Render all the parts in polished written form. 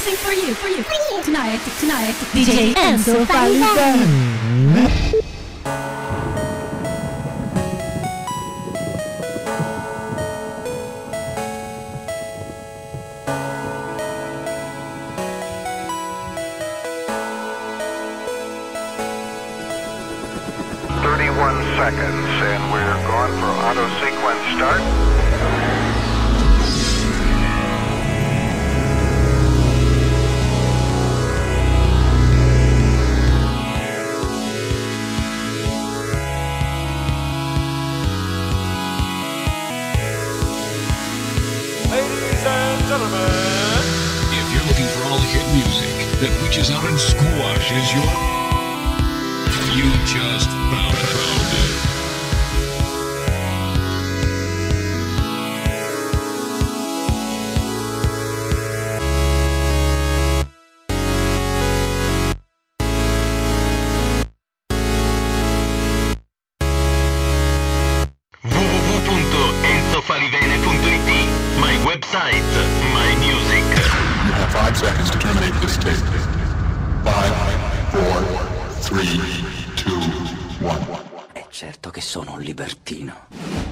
mixing for you tonight, DJ Enzo Falivene. Seconds, and we're going for auto sequence start. Ladies and gentlemen, if you're looking for all the hit music that reaches out and squashes your, you just found it. www.enzofalivene.it, my website, my music. You have 5 seconds to terminate this tape. 5, 4, 3, 2, 1. È certo che sono un libertino.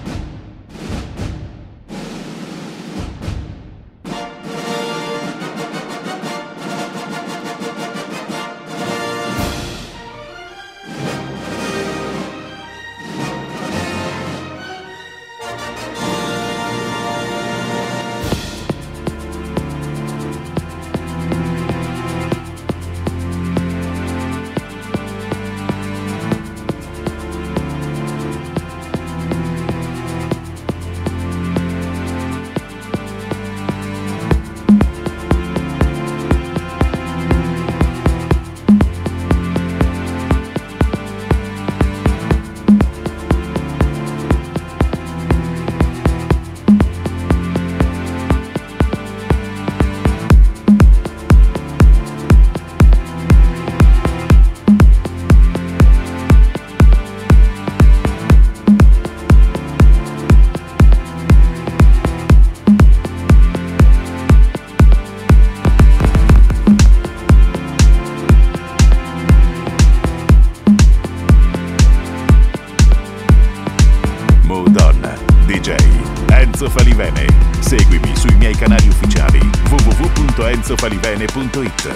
Enzo Falivene. Seguimi sui miei canali ufficiali www.enzofalivene.it.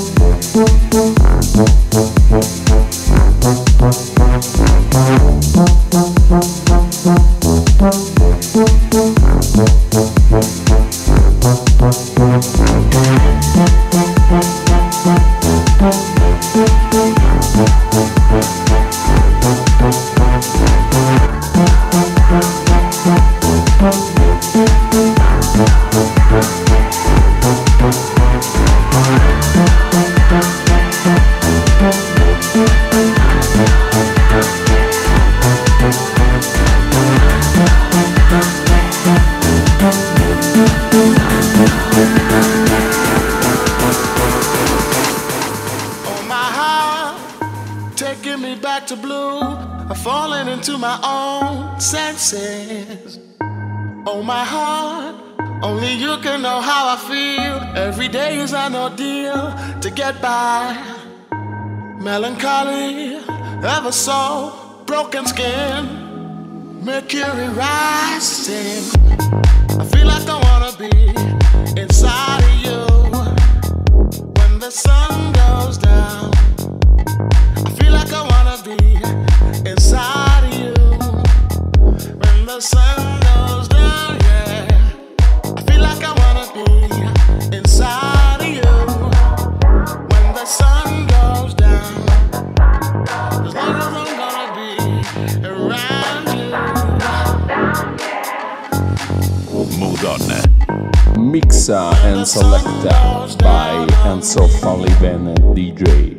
Melancholy, ever so broken skin, mercury rising. I feel like I wanna be inside of you when the sun goes down. I feel like I wanna be inside of you when the sun goes down, yeah. I feel like I wanna be inside of you when the sun goes down. As long as I'm gonna be around you. Mood-On. Mixa and Selecta by Enzo Falivene DJ.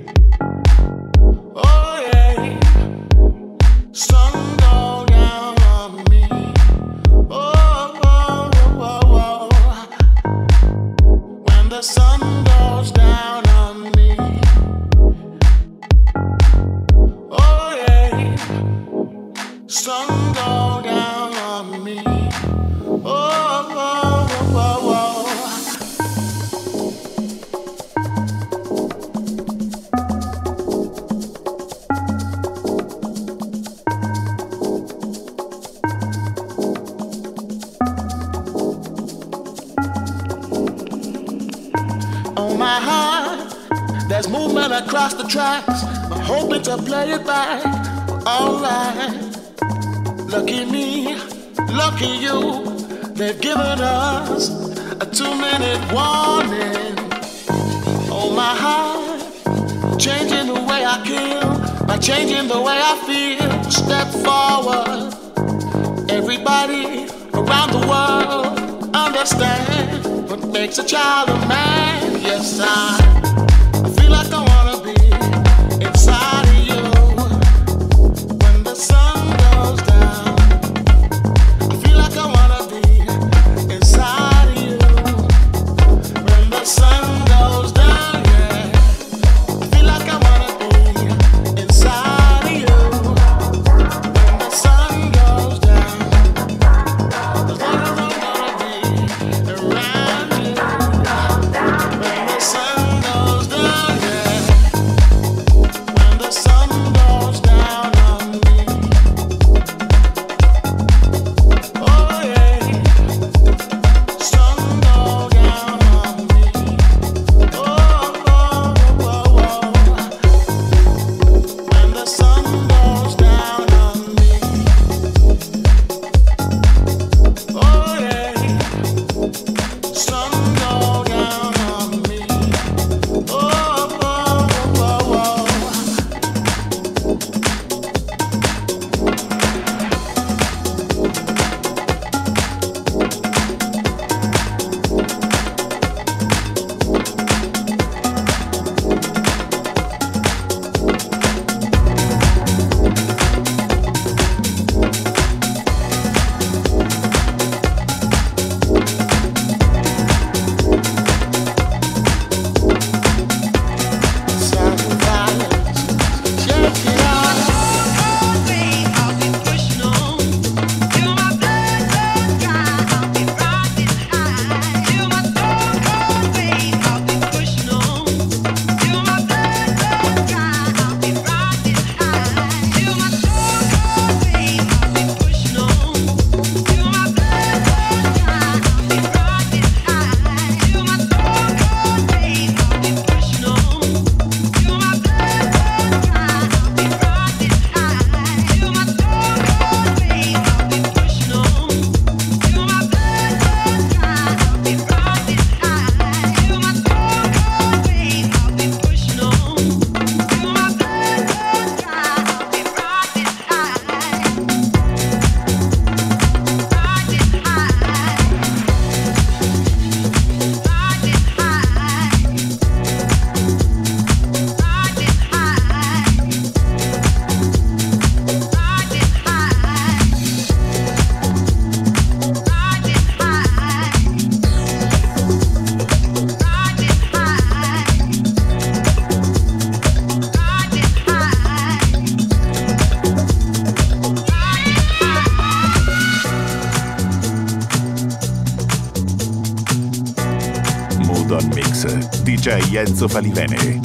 Across the tracks, I'm hoping to play it back. Alright, lucky me, lucky you. They've given us a 2-minute warning. Oh my heart, changing the way I kill by changing the way I feel. Step forward, everybody around the world understand what makes a child a man. Yes, I feel like I wanna be inside of you when the sun goes down. I feel like I wanna be inside of you when the sun goes down, yeah. I feel like I wanna be inside of you when the sun goes down. As long as I'm gonna be around you when the sun goes down. DJ Enzo Falivene.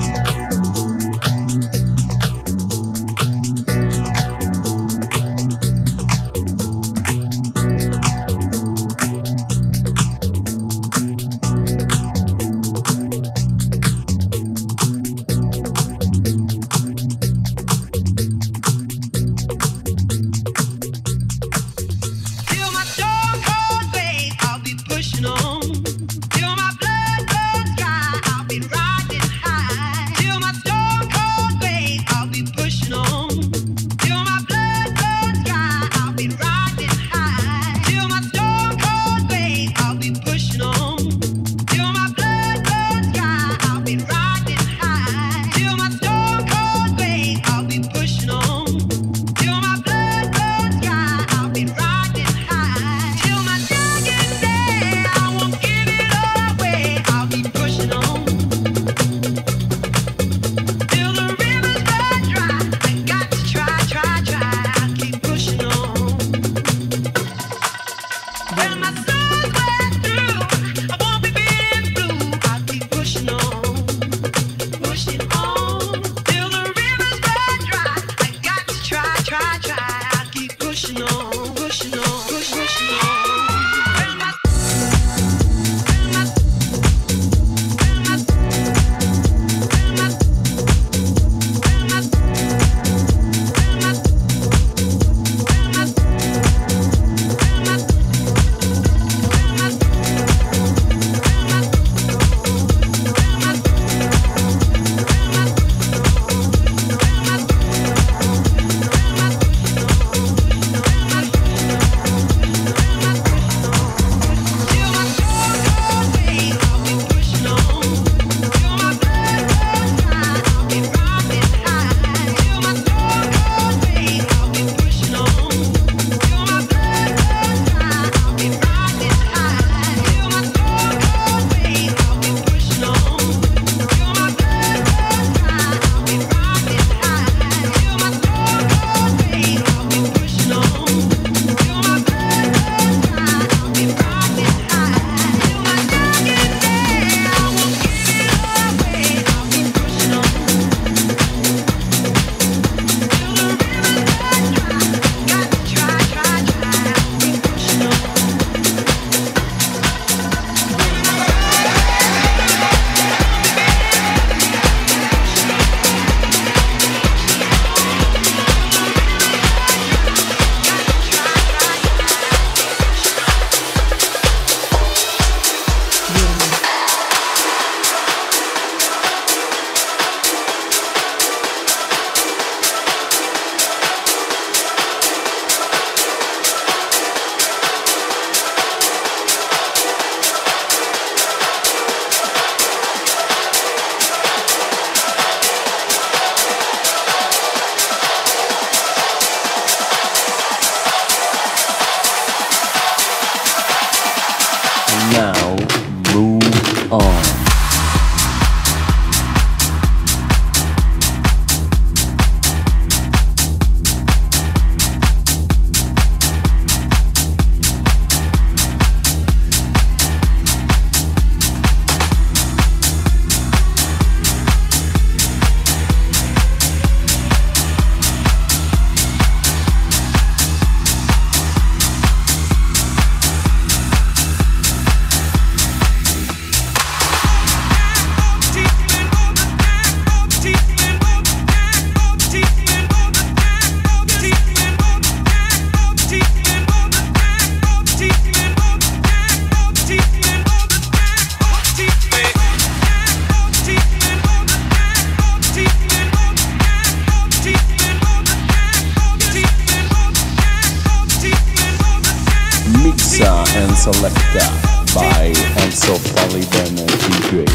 and Selecta by Enzo Falivene DJ.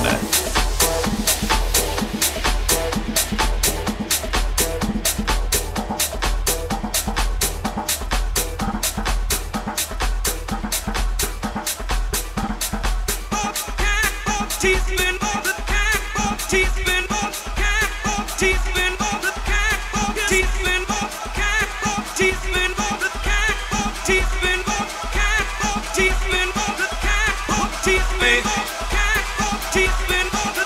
Teaspoon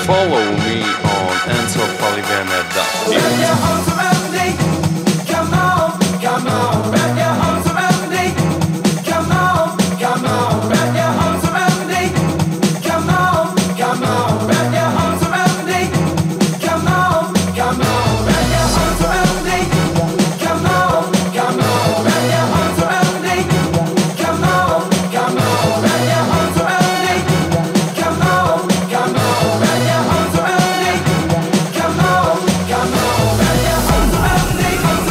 follow me on enzofalivene.it. Come on, come on, wrap your arms around me. Come on, come on, wrap your arms around me. Come on, come on, wrap your arms around me. Come on, come on, wrap your arms around me. Come on, come on, wrap your arms around me. Come on, come on, wrap your arms around me. Come on, come on, wrap your arms around me. Come on, come on, wrap your arms around me.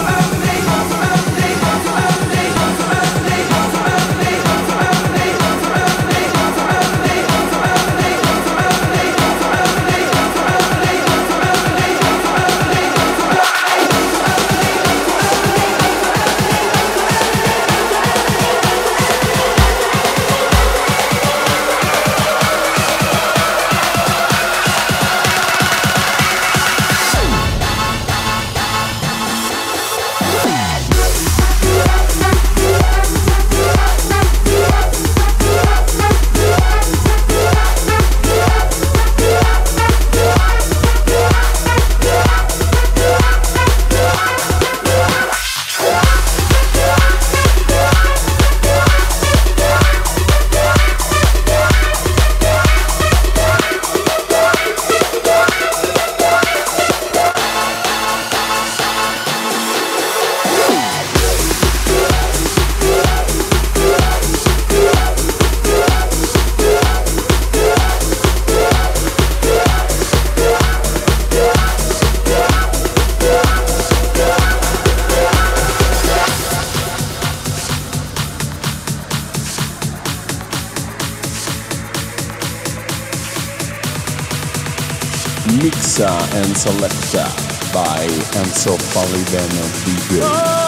Mixa and Selecta by Enzo Falivene DJ.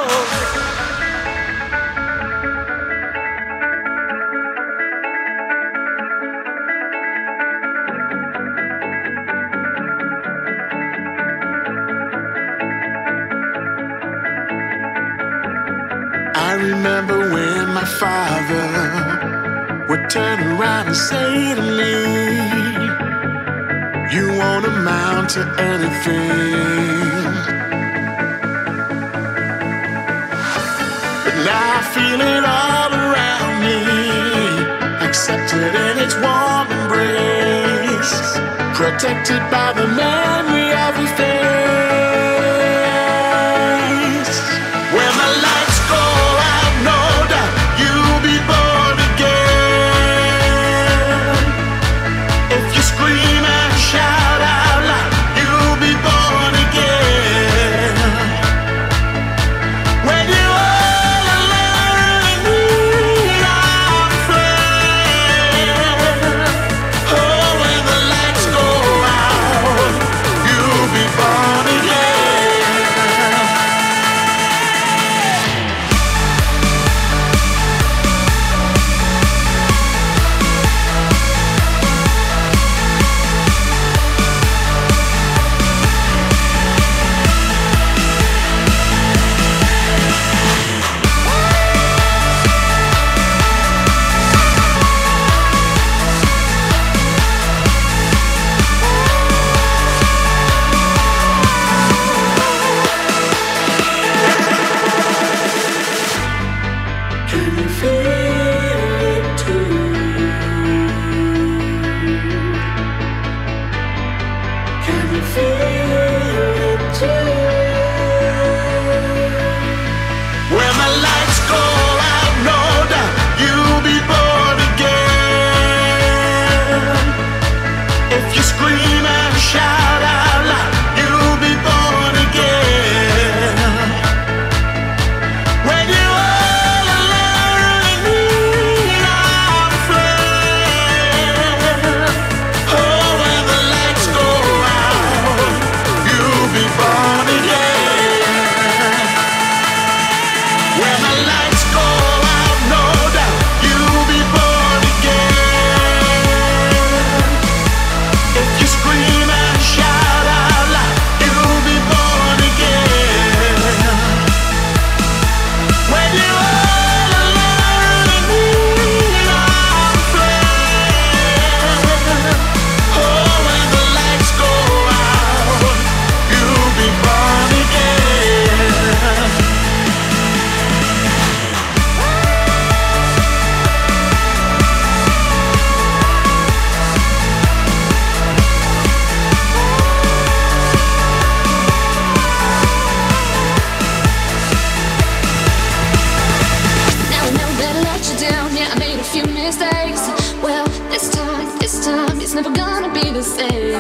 I remember when my father would turn around and say to me, you won't amount to anything. But now I feel it all around me, accepted in its warm embrace, protected by the memory of your face. When the lights go out, no doubt you'll be born again. If you scream and shout out loud, you'll be born again. When you're all alone and need our friend, oh, when the lights go out, you'll be born again. Can you feel it too? Can you feel it too? When the lights go out, no doubt you'll be born again. If you scream and shout out loud, you'll be born again. When you're all alone and need our friend, oh, when the lights go out,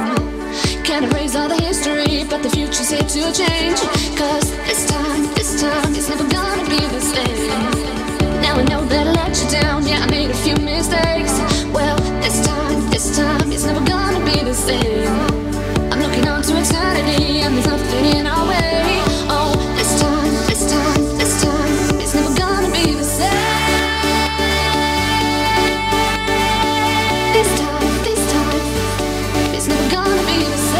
Can't erase all the history, but the future's here to change. Cause this time, it's never gonna be the same. Now I know that I let you down, yeah, I made a few mistakes. Well, this time, it's never gonna be the same. I'm looking on to eternity, and there's nothing in our way. Oh, this time, it's never gonna be the same. This time, it's never gonna be the same.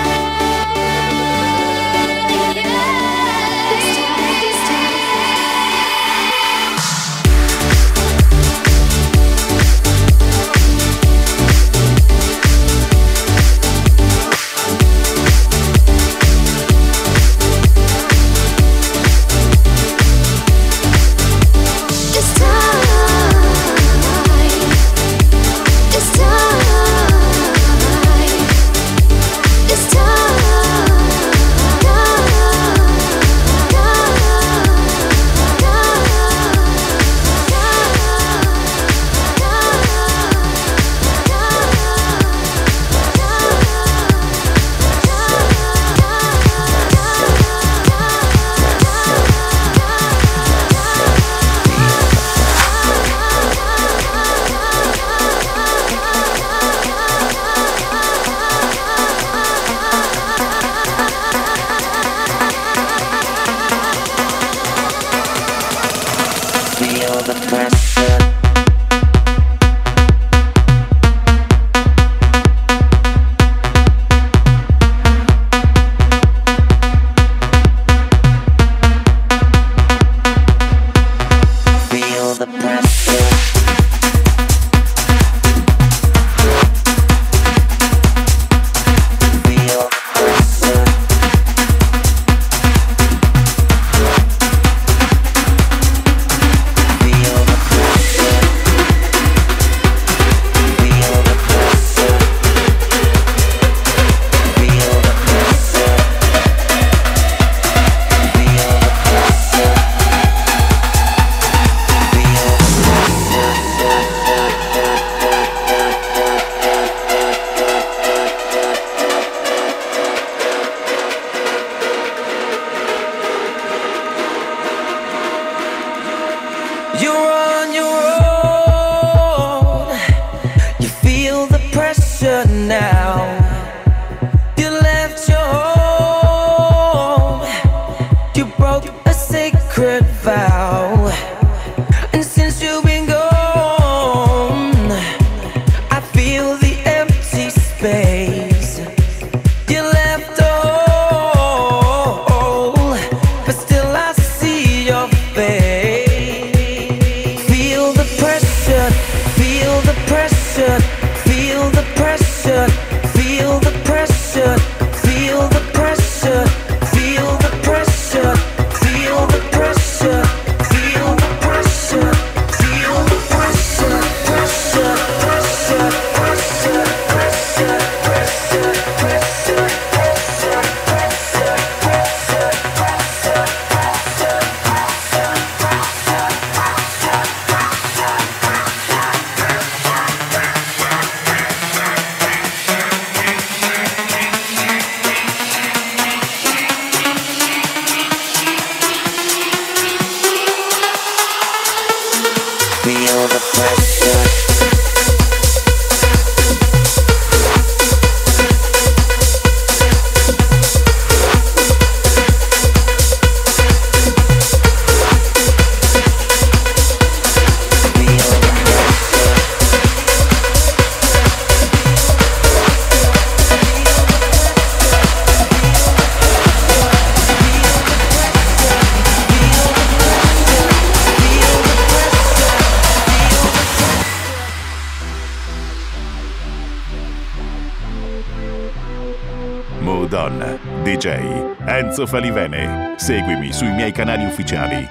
Moodon, DJ Enzo Falivene. Seguimi sui miei canali ufficiali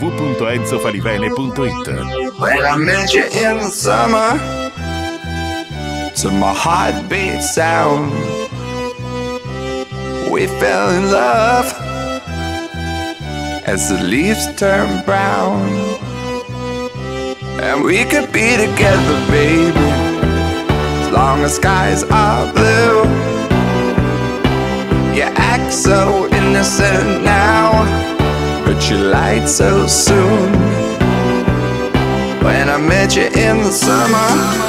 www.enzofalivene.it. When I met you in the summer, to my heartbeat sound, we fell in love as the leaves turn brown. And we could be together, baby, as long as skies are blue. so innocent now, but you lied so soon. When I met you in the summer,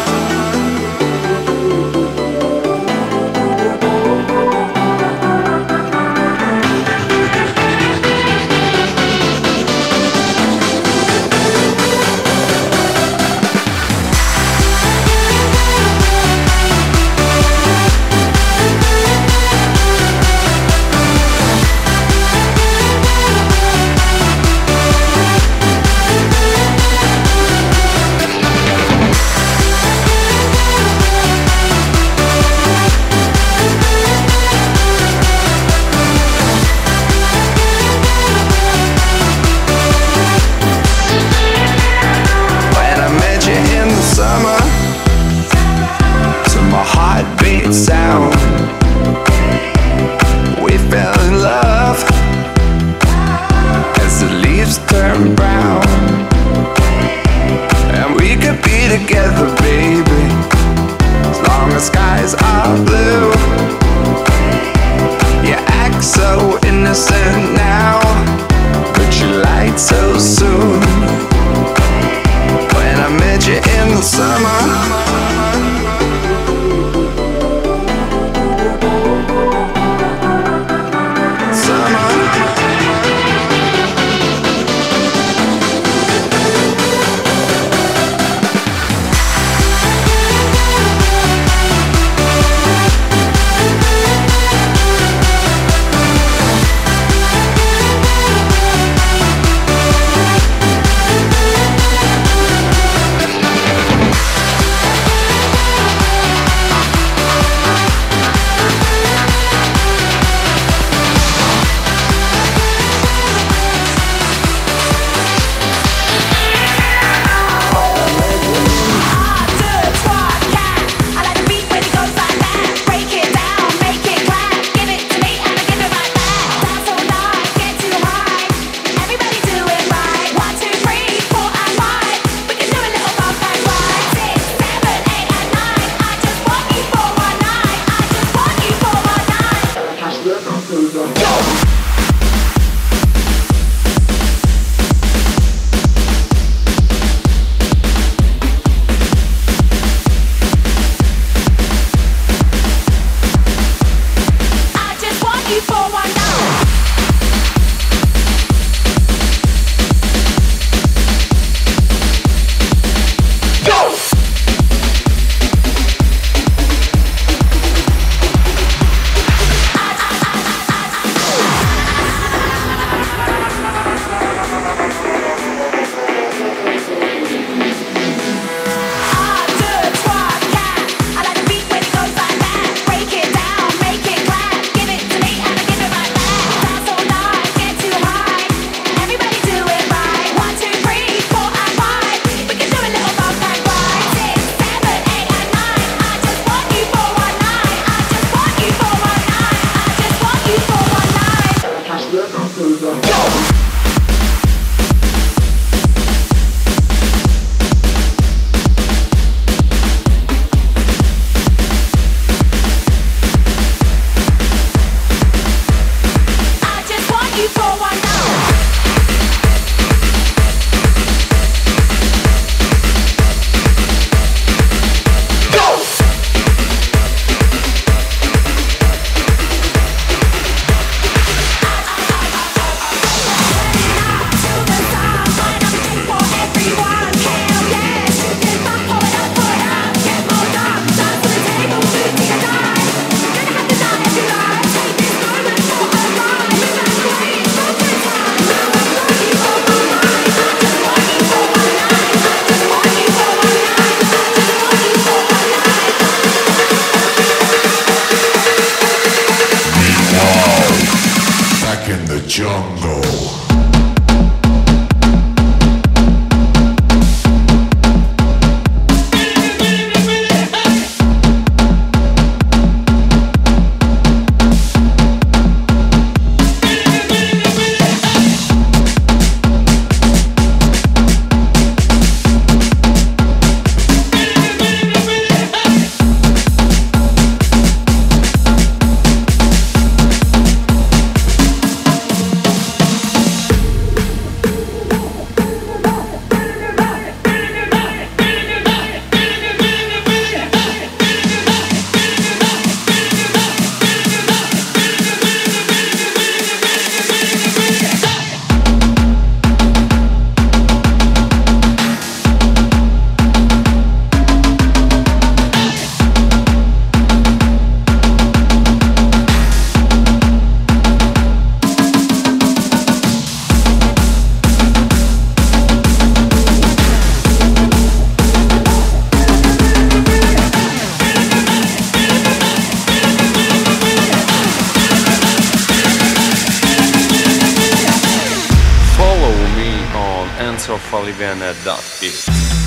enzofalivene.it.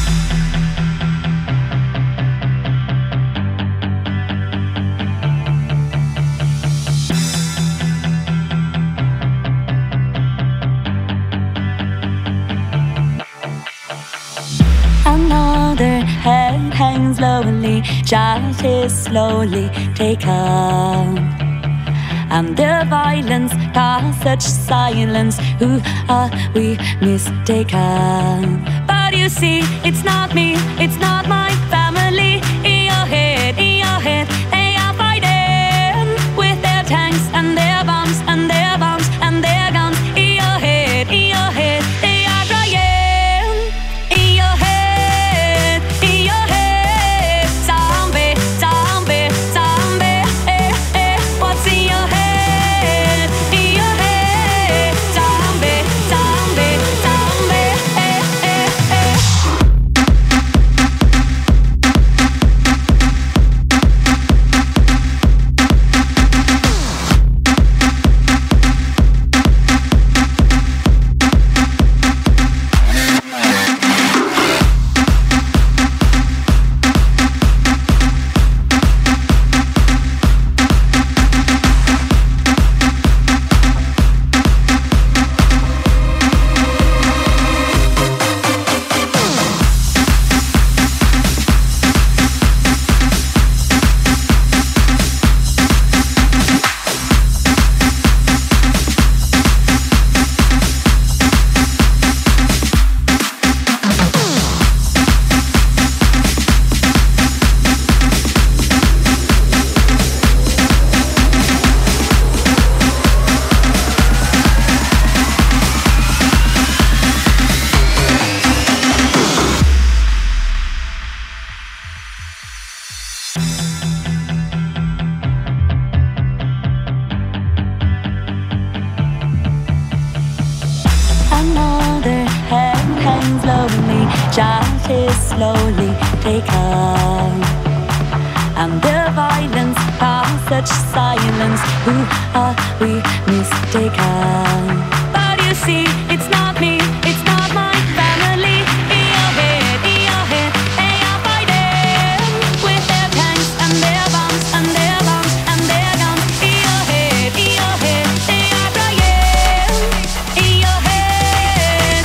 Another head hangs lowly, child is slowly taken. And the violence caused such silence. Who are we mistaken? But you see, it's not me, it's not my family. In your head, they are fighting with their tanks and their bombs and their bombs and their guns. In your head, they are crying. In your head, zombie, zombie, zombie. What's in your head? In your head, zombie, zombie, zombie. Another head hangs lonely, child is slowly taken. And the violence caused such silence. Who are we mistaken? But you see, it's not me, it's not my family. In your head, they are fighting with their tanks and their bombs and their bombs and their guns. In your head, they are crying. In your head,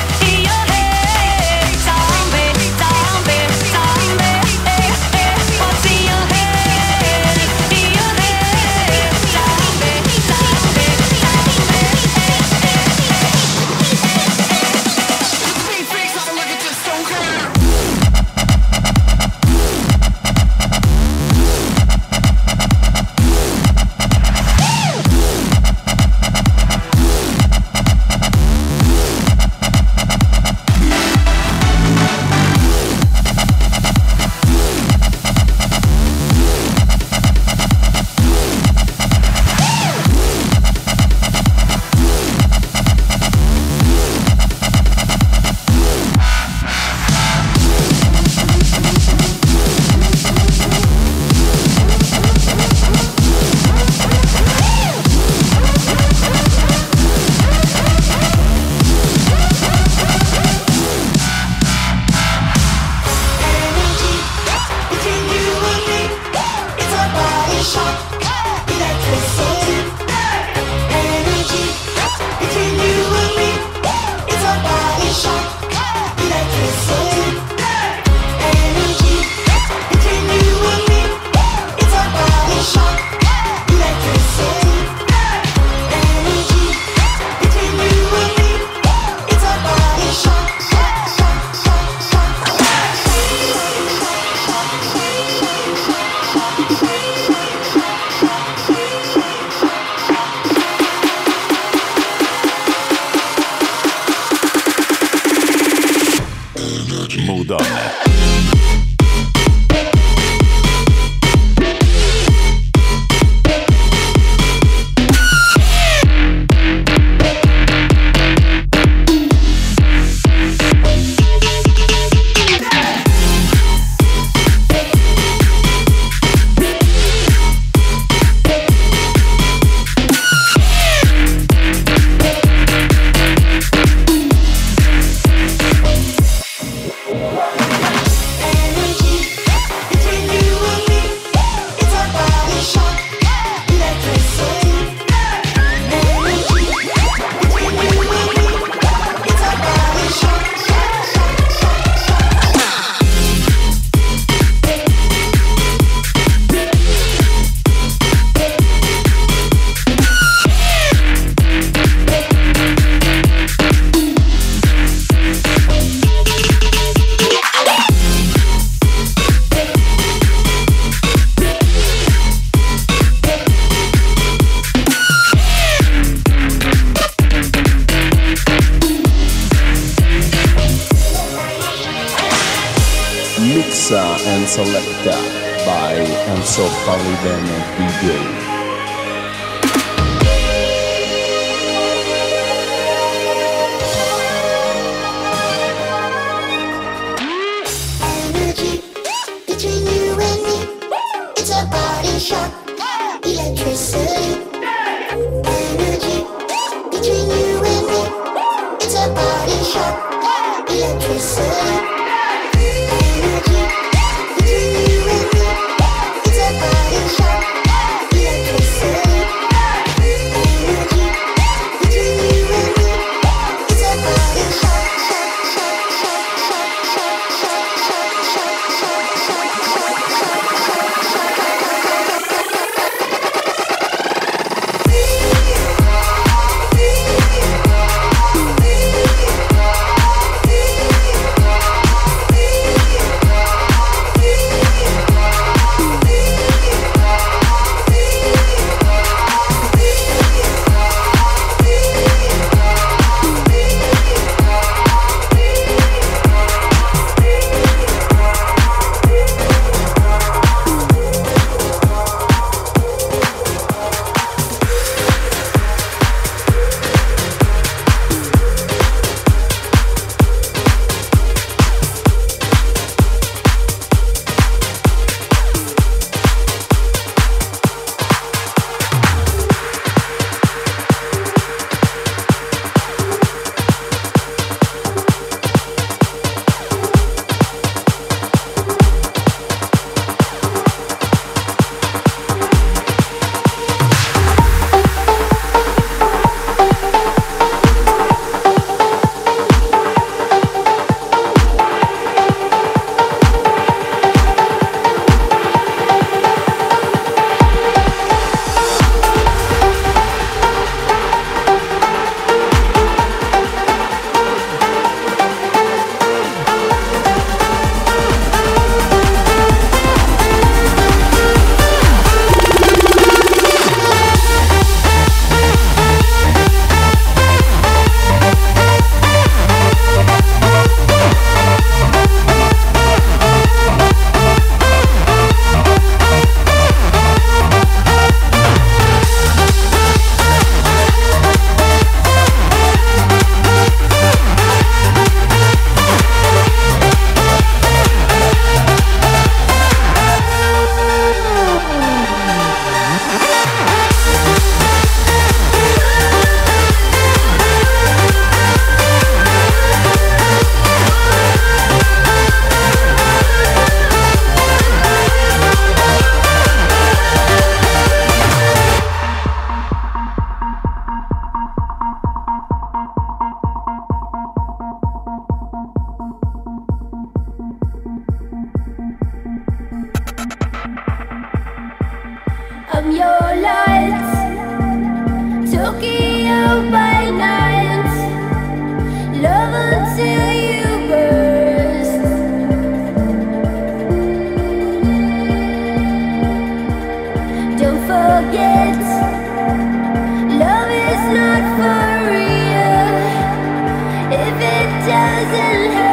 zombie, zombie, zombie. What's in your head? In your head, zombie, zombie, zombie. Selecta by Enzo Falivene DJ. I'm your light, Tokyo by night, love until you burst. Don't forget, love is not for real if it doesn't hurt.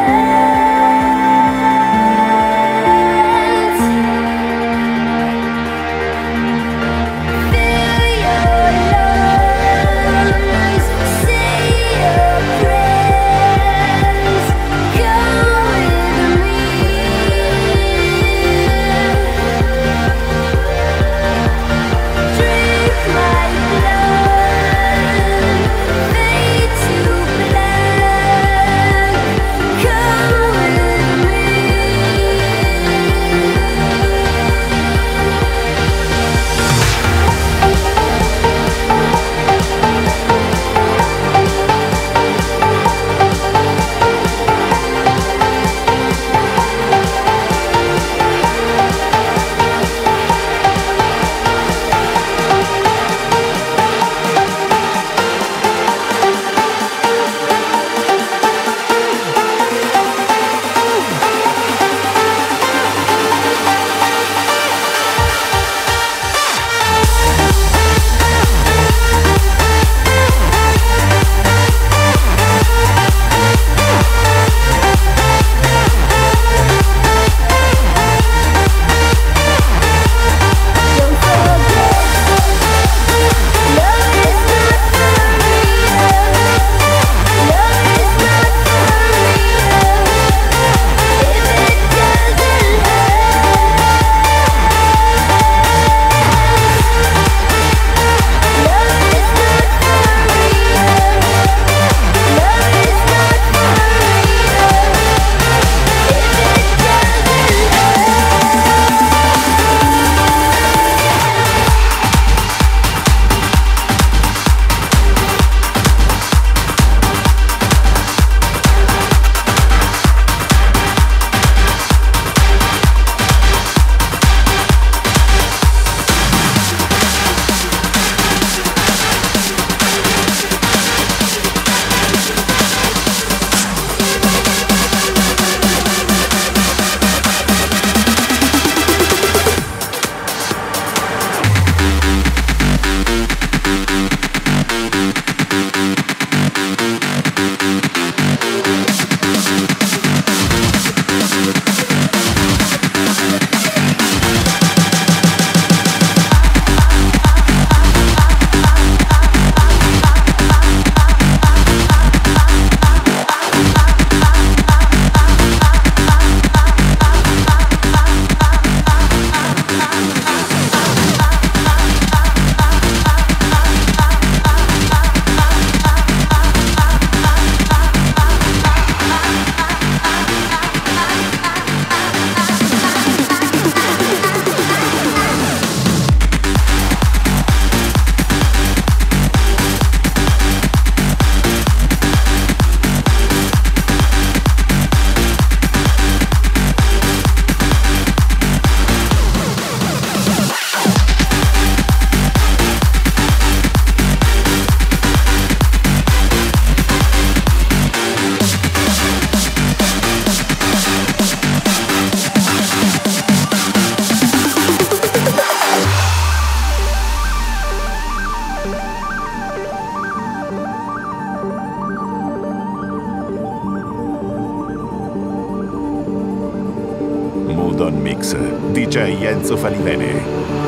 mix, DJ Enzo Falivene.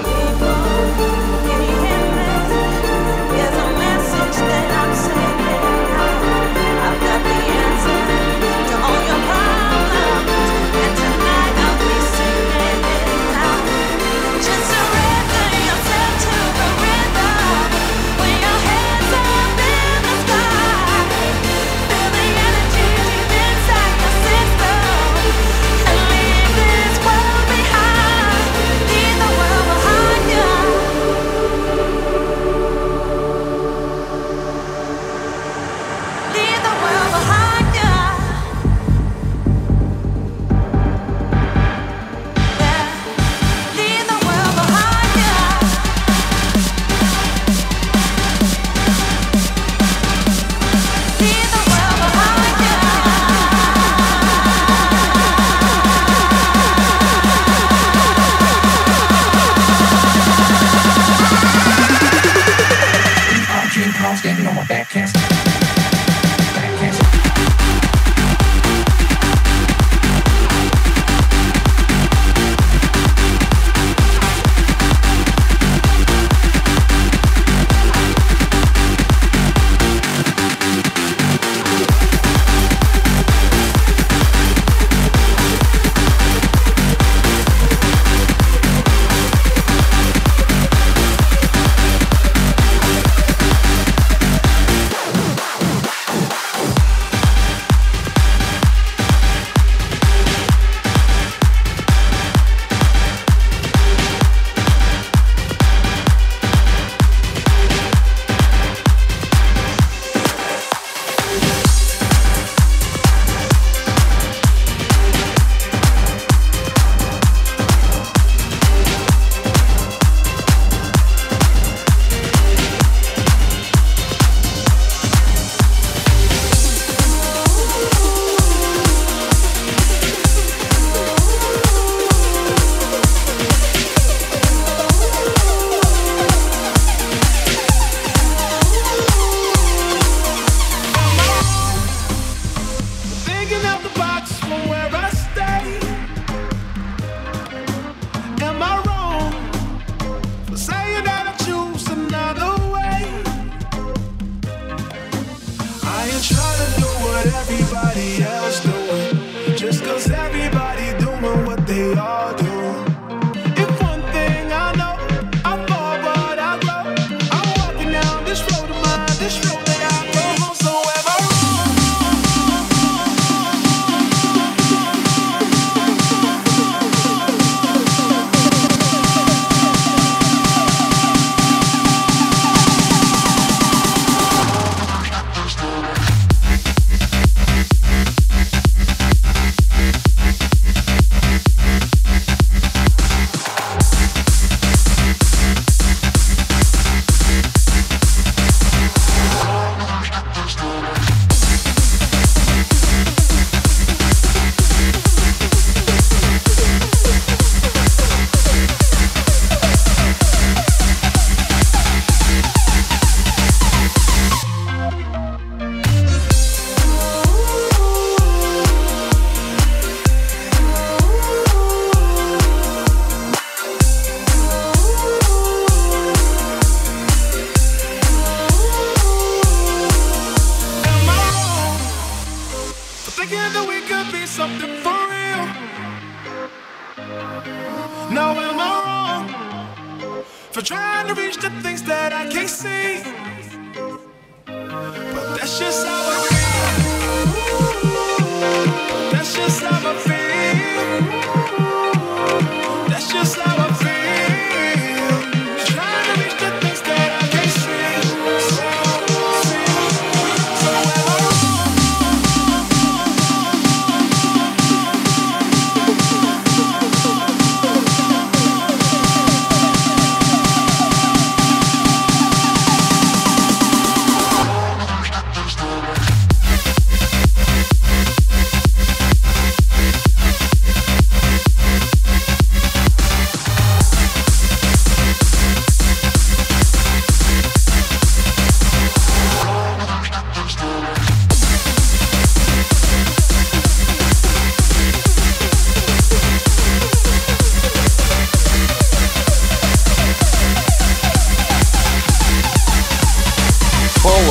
Standing on my back, can't stand.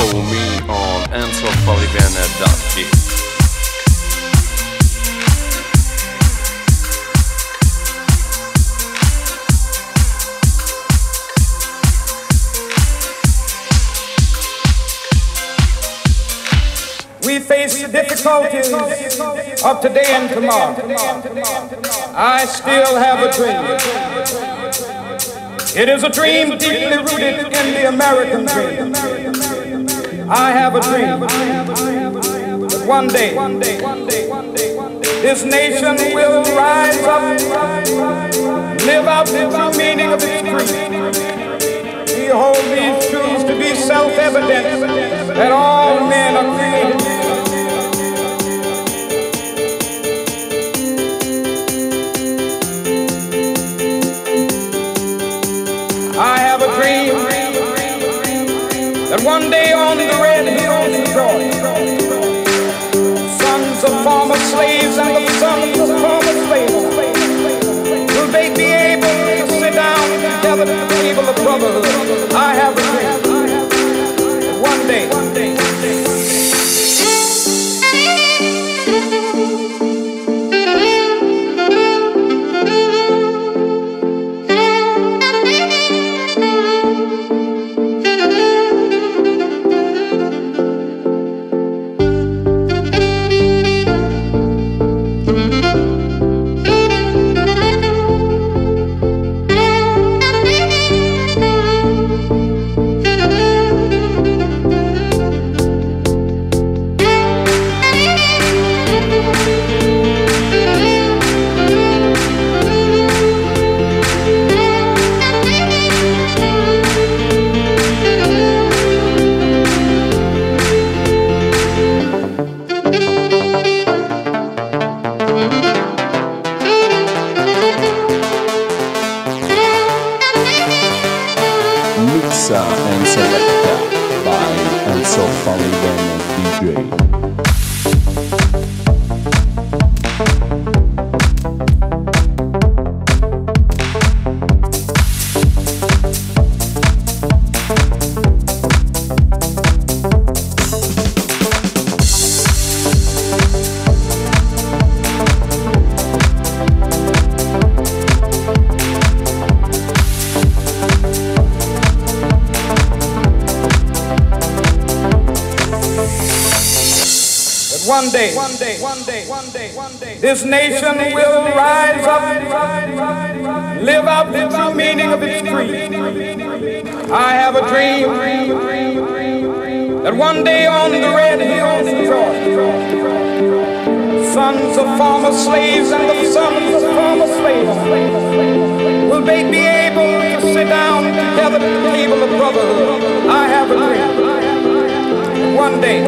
Follow me on enzofalivene.it. We face the difficulties of today and tomorrow. I still have a dream. It is a dream deeply rooted in the American dream. I have a dream that one day this nation will rise up, live out the true meaning of its creed. We hold these truths to be self-evident that all men are created. I have a dream that one day on the red hills of Georgia, sons of former slaves and the sons of former slaves will they be able to sit down together at the table of brotherhood. I have a dream that one day. And selected by Enzo Falivene DJ. One day, this nation will rise up, live out the true meaning of its creed. I have a dream that one day on the red hills of Georgia, sons of former slaves and the sons of former slaves will they be able to sit down together at the table of brotherhood. I have a dream. One day.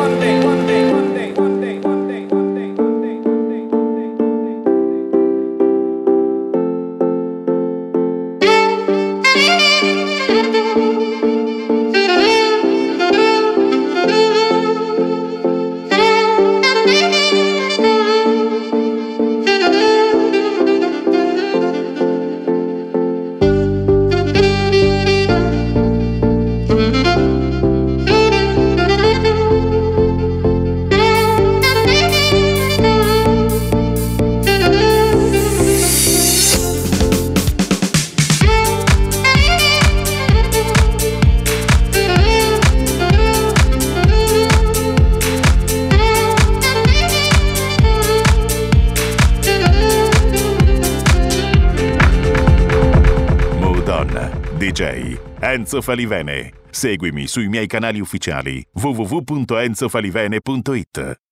DJ Enzo Falivene. Seguimi sui miei canali ufficiali www.enzofalivene.it.